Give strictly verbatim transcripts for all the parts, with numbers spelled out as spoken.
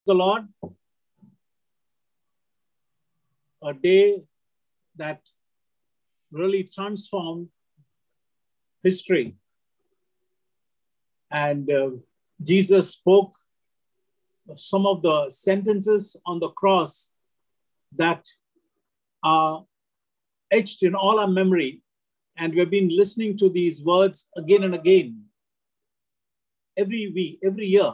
the Lord. A day that really transformed history. And uh, Jesus spoke some of the sentences on the cross that are etched in all our memory. And we've been listening to these words again and again, every week, every year.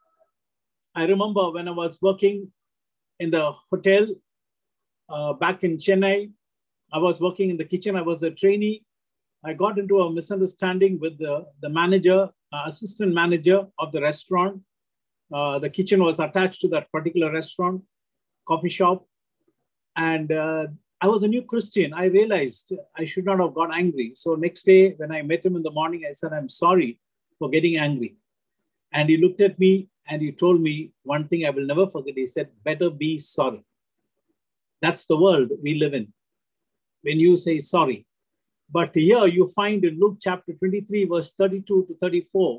I remember when I was working in the hotel uh, back in Chennai, I was working in the kitchen. I was a trainee. I got into a misunderstanding with the, the manager, uh, assistant manager of the restaurant. Uh, the kitchen was attached to that particular restaurant, coffee shop. And uh, I was a new Christian. I realized I should not have got angry. So next day when I met him in the morning, I said, I'm sorry for getting angry. And he looked at me and he told me one thing I will never forget. He said, better be sorry. That's the world we live in. When you say sorry. But here you find in Luke chapter twenty-three, verse thirty-two to thirty-four,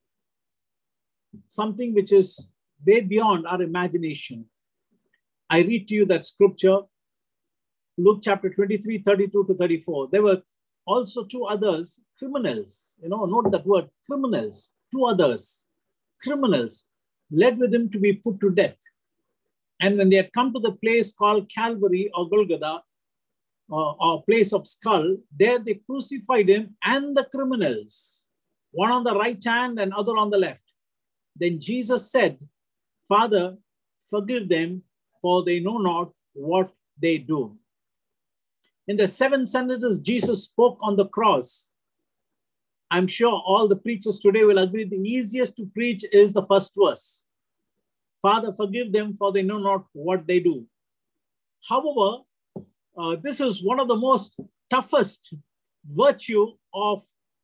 something which is way beyond our imagination. I read to you that scripture, Luke chapter twenty-three, thirty-two to thirty-four. There were also two others, criminals. You know, note that word, criminals. Two others, criminals, led with him to be put to death. And when they had come to the place called Calvary or Golgotha, uh, or place of skull, there they crucified him and the criminals, one on the right hand and other on the left. Then Jesus said, Father, forgive them, for they know not what they do. In the seven sentences Jesus spoke on the cross, I'm sure all the preachers today will agree the easiest to preach is the first verse. Father, forgive them, for they know not what they do. However, uh, this is one of the most toughest virtue of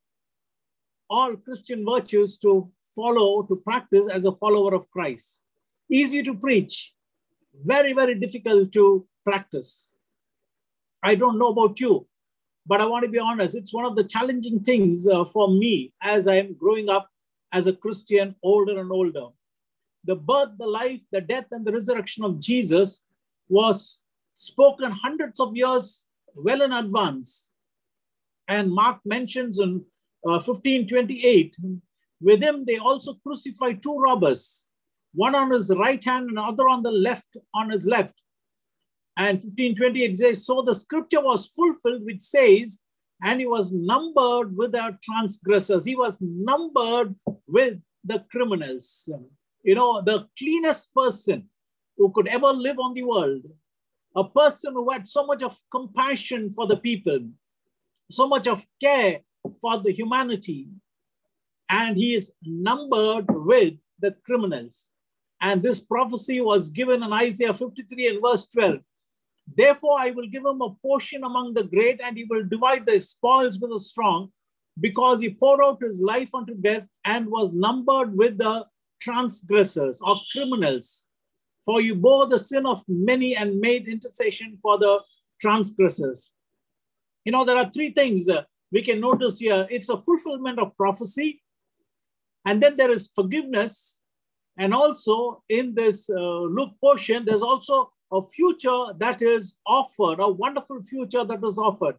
all Christian virtues to follow, to practice as a follower of Christ. Easy to preach, very, very difficult to practice. I don't know about you, but I want to be honest. It's one of the challenging things uh, for me as I'm growing up as a Christian, older and older. The birth, the life, the death, and the resurrection of Jesus was spoken hundreds of years well in advance. And Mark mentions in uh, fifteen twenty-eight, with him they also crucified two robbers, one on his right hand and other on the left, on his left. And fifteen twenty-eight says, so the scripture was fulfilled, which says, and he was numbered with the transgressors. He was numbered with the criminals. You know, the cleanest person who could ever live on the world, a person who had so much of compassion for the people, so much of care for the humanity, and he is numbered with the criminals. And this prophecy was given in Isaiah fifty-three and verse twelve. Therefore, I will give him a portion among the great, and he will divide the spoils with the strong, because he poured out his life unto death and was numbered with the transgressors or criminals. For you bore the sin of many and made intercession for the transgressors. You know, there are three things uh, we can notice here. It's a fulfillment of prophecy. And then there is forgiveness. And also in this uh, Luke portion, there's also a future that is offered, a wonderful future that is offered.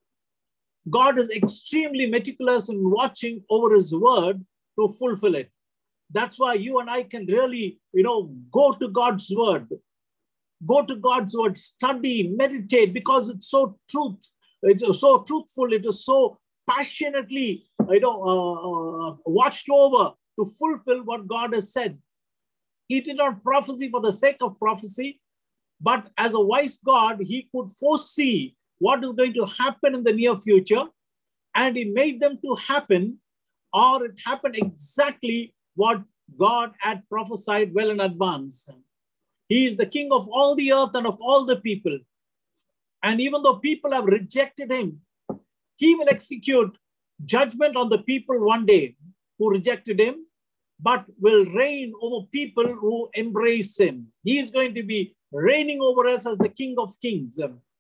God is extremely meticulous in watching over his word to fulfill it. That's why you and I can really, you know, go to God's word. Go to God's word, study, meditate, because it's so truth. It is so truthful. It is so passionately, you know, uh, uh, watched over to fulfill what God has said. He did not prophesy for the sake of prophecy, but as a wise God, he could foresee what is going to happen in the near future, and he made them to happen, or it happened exactly what God had prophesied well in advance. He is the king of all the earth and of all the people. And even though people have rejected him, he will execute judgment on the people one day who rejected him, but will reign over people who embrace him. He is going to be reigning over us as the King of Kings.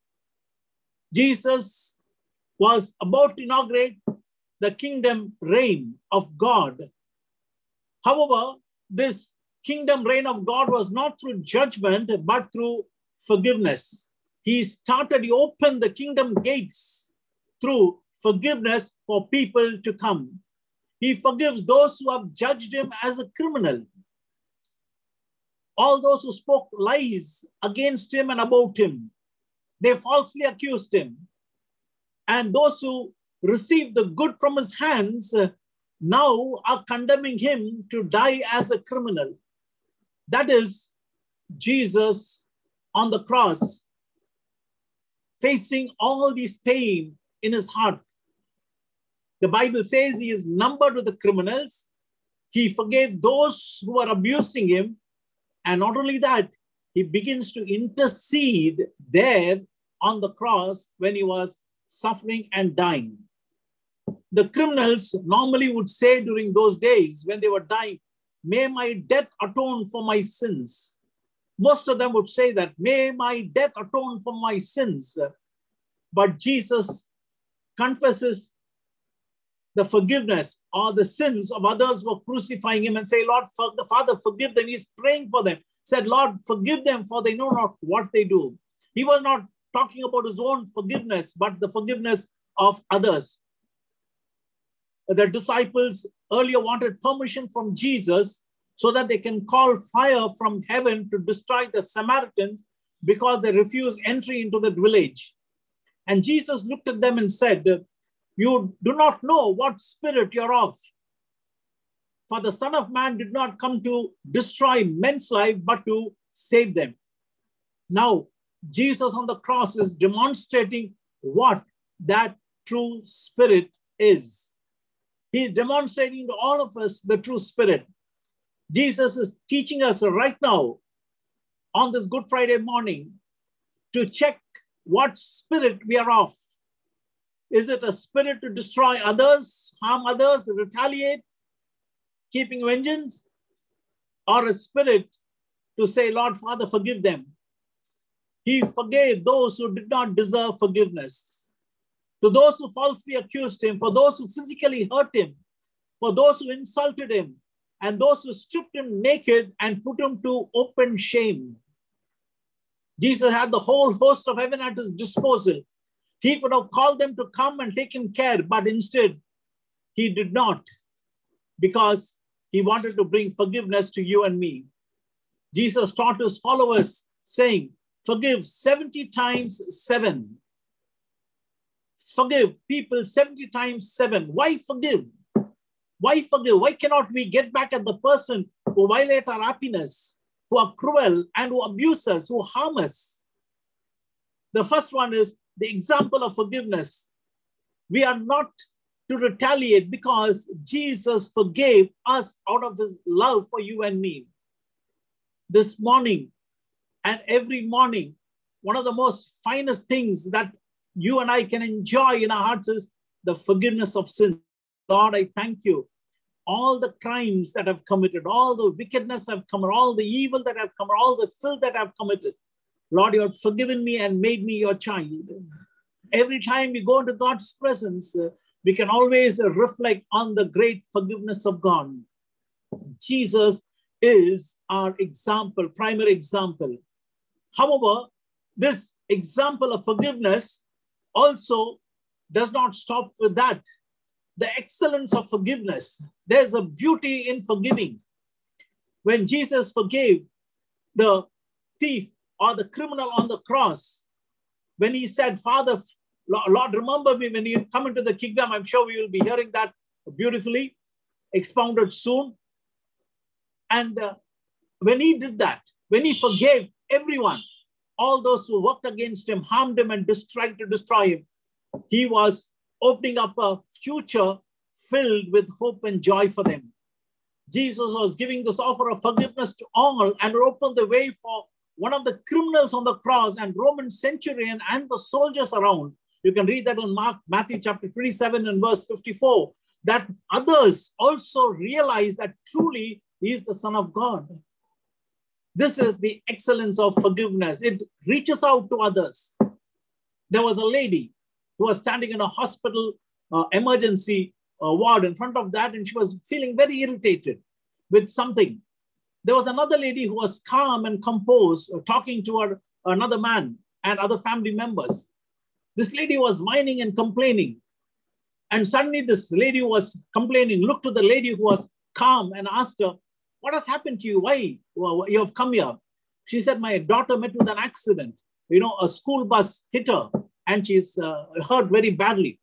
Jesus was about to inaugurate the kingdom reign of God. However, this kingdom reign of God was not through judgment, but through forgiveness. He started, he opened the kingdom gates through forgiveness for people to come. He forgives those who have judged him as a criminal. All those who spoke lies against him and about him, they falsely accused him. And those who received the good from his hands uh, now are condemning him to die as a criminal. That is Jesus on the cross, facing all this pain in his heart. The Bible says he is numbered with the criminals. He forgave those who were abusing him. And not only that, he begins to intercede there on the cross when he was suffering and dying. The criminals normally would say during those days when they were dying, may my death atone for my sins. Most of them would say that, may my death atone for my sins. But Jesus confesses the forgiveness or the sins of others who were crucifying him and say, Lord, for the Father, forgive them. He's praying for them. Said, Lord, forgive them, for they know not what they do. He was not talking about his own forgiveness, but the forgiveness of others. The disciples earlier wanted permission from Jesus so that they can call fire from heaven to destroy the Samaritans because they refused entry into the village. And Jesus looked at them and said, you do not know what spirit you're of. For the Son of Man did not come to destroy men's life, but to save them. Now, Jesus on the cross is demonstrating what that true spirit is. He is demonstrating to all of us the true spirit. Jesus is teaching us right now on this Good Friday morning to check what spirit we are of. Is it a spirit to destroy others, harm others, retaliate, keeping vengeance? Or a spirit to say, Lord, Father, forgive them? He forgave those who did not deserve forgiveness. To those who falsely accused him, for those who physically hurt him, for those who insulted him, and those who stripped him naked and put him to open shame. Jesus had the whole host of heaven at his disposal. He could have called them to come and take him care, but instead he did not, because he wanted to bring forgiveness to you and me. Jesus taught his followers saying, forgive seventy times seven. Forgive people seventy times seven. Why forgive? Why forgive? Why cannot we get back at the person who violate our happiness, who are cruel and who abuse us, who harm us? The first one is the example of forgiveness. We are not to retaliate because Jesus forgave us out of his love for you and me. This morning and every morning, one of the most finest things that you and I can enjoy in our hearts is the forgiveness of sin. Lord, I thank you. All the crimes that I've committed, all the wickedness I've committed, all the evil that I've committed, all the filth that I've committed, Lord, you have forgiven me and made me your child. Every time we go into God's presence, uh, we can always uh, reflect on the great forgiveness of God. Jesus is our example, primary example. However, this example of forgiveness also does not stop with that. The excellence of forgiveness. There's a beauty in forgiving. When Jesus forgave the thief or the criminal on the cross, when he said, Father, Lord, remember me when you come into the kingdom. I'm sure we will be hearing that beautifully expounded soon. And uh, when he did that, when he forgave everyone, all those who worked against him, harmed him, and tried to destroy him, he was opening up a future filled with hope and joy for them. Jesus was giving this offer of forgiveness to all and opened the way for one of the criminals on the cross and Roman centurion and the soldiers around. You can read that in Mark, Matthew chapter twenty-seven and verse fifty-four, that others also realize that truly he is the Son of God. This is the excellence of forgiveness. It reaches out to others. There was a lady who was standing in a hospital uh, emergency uh, ward in front of that, and she was feeling very irritated with something. There was another lady who was calm and composed, talking to her, another man and other family members. This lady was whining and complaining. And suddenly this lady who was complaining looked to the lady who was calm and asked her, what has happened to you? Why you have come here? She said, my daughter met with an accident. You know, a school bus hit her and she's uh, hurt very badly.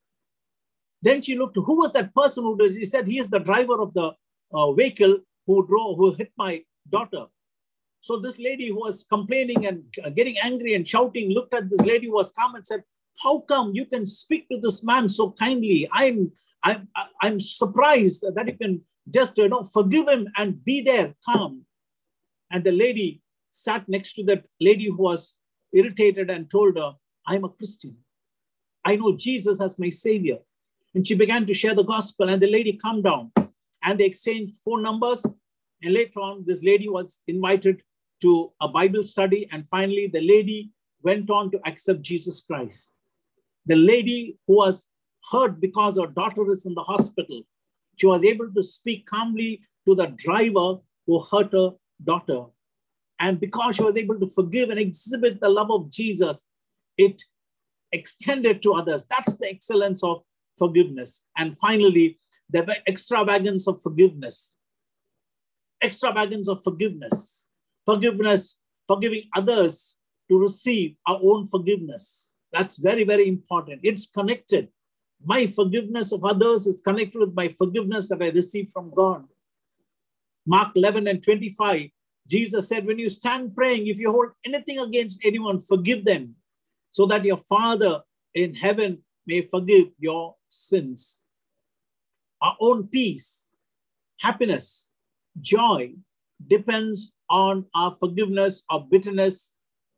Then she looked, who was that person who did? He said, he is the driver of the uh, vehicle who drove, who hit my daughter. So this lady who was complaining and getting angry and shouting looked at this lady who was calm and said, how come you can speak to this man so kindly? I'm, I'm, I'm surprised that you can just, you know, forgive him and be there calm. And the lady sat next to that lady who was irritated and told her, I'm a Christian. I know Jesus as my savior. And she began to share the gospel, and the lady calmed down and they exchanged phone numbers. And later on, this lady was invited to a Bible study. And finally, the lady went on to accept Jesus Christ. The lady who was hurt because her daughter is in the hospital, she was able to speak calmly to the driver who hurt her daughter. And because she was able to forgive and exhibit the love of Jesus, it extended to others. That's the excellence of forgiveness. And finally, the extravagance of forgiveness. Extravagance of forgiveness. Forgiveness, forgiving others to receive our own forgiveness. That's very, very important. It's connected. My forgiveness of others is connected with my forgiveness that I receive from God. Mark eleven and twenty-five, Jesus said, when you stand praying, if you hold anything against anyone, forgive them, so that your Father in heaven may forgive your sins. Our own peace, happiness, joy depends on our forgiveness of bitterness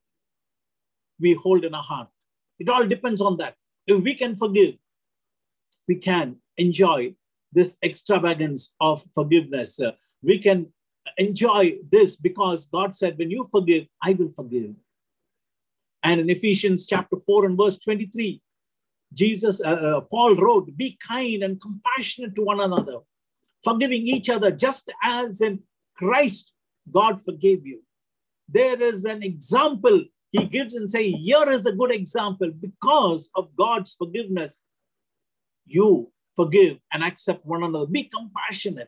we hold in our heart. It all depends on that. If we can forgive, we can enjoy this extravagance of forgiveness. Uh, we can enjoy this because God said, when you forgive, I will forgive. And in Ephesians chapter four and verse twenty-three, Jesus, uh, uh, Paul wrote, be kind and compassionate to one another, forgiving each other just as in Christ God forgave you. There is an example he gives and say, here is a good example. Because of God's forgiveness, you forgive and accept one another. Be compassionate.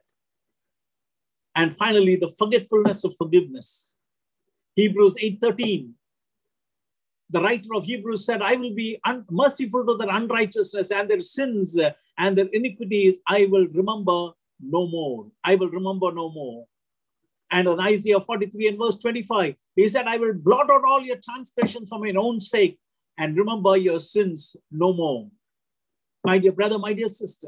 And finally, the forgetfulness of forgiveness. Hebrews eight thirteen. The writer of Hebrews said, I will be merciful to their unrighteousness and their sins and their iniquities. I will remember no more. I will remember no more. And in Isaiah forty-three and verse twenty-five, he said, I will blot out all your transgressions for my own sake and remember your sins no more. My dear brother, my dear sister,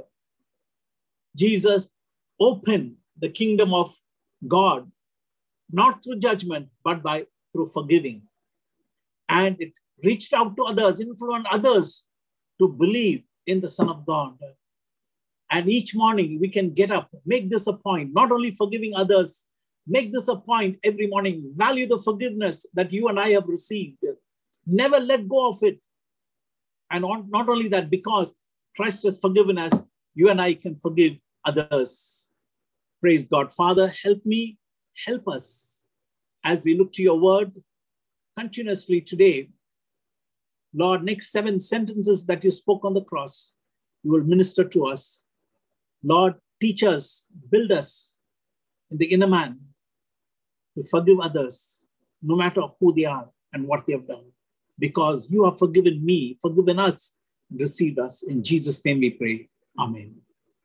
Jesus opened the kingdom of God, not through judgment, but by through forgiving. And it reached out to others, influenced others to believe in the Son of God. And each morning we can get up, make this a point, not only forgiving others, make this a point every morning, value the forgiveness that you and I have received. Never let go of it. And on, not only that, because Christ has forgiven us, you and I can forgive others. Praise God. Father, help me, help us as we look to your word continuously today. Lord, next seven sentences that you spoke on the cross, you will minister to us. Lord, teach us, build us in the inner man to forgive others, no matter who they are and what they have done, because you have forgiven me, forgiven us, and received us. In Jesus' name we pray. Amen.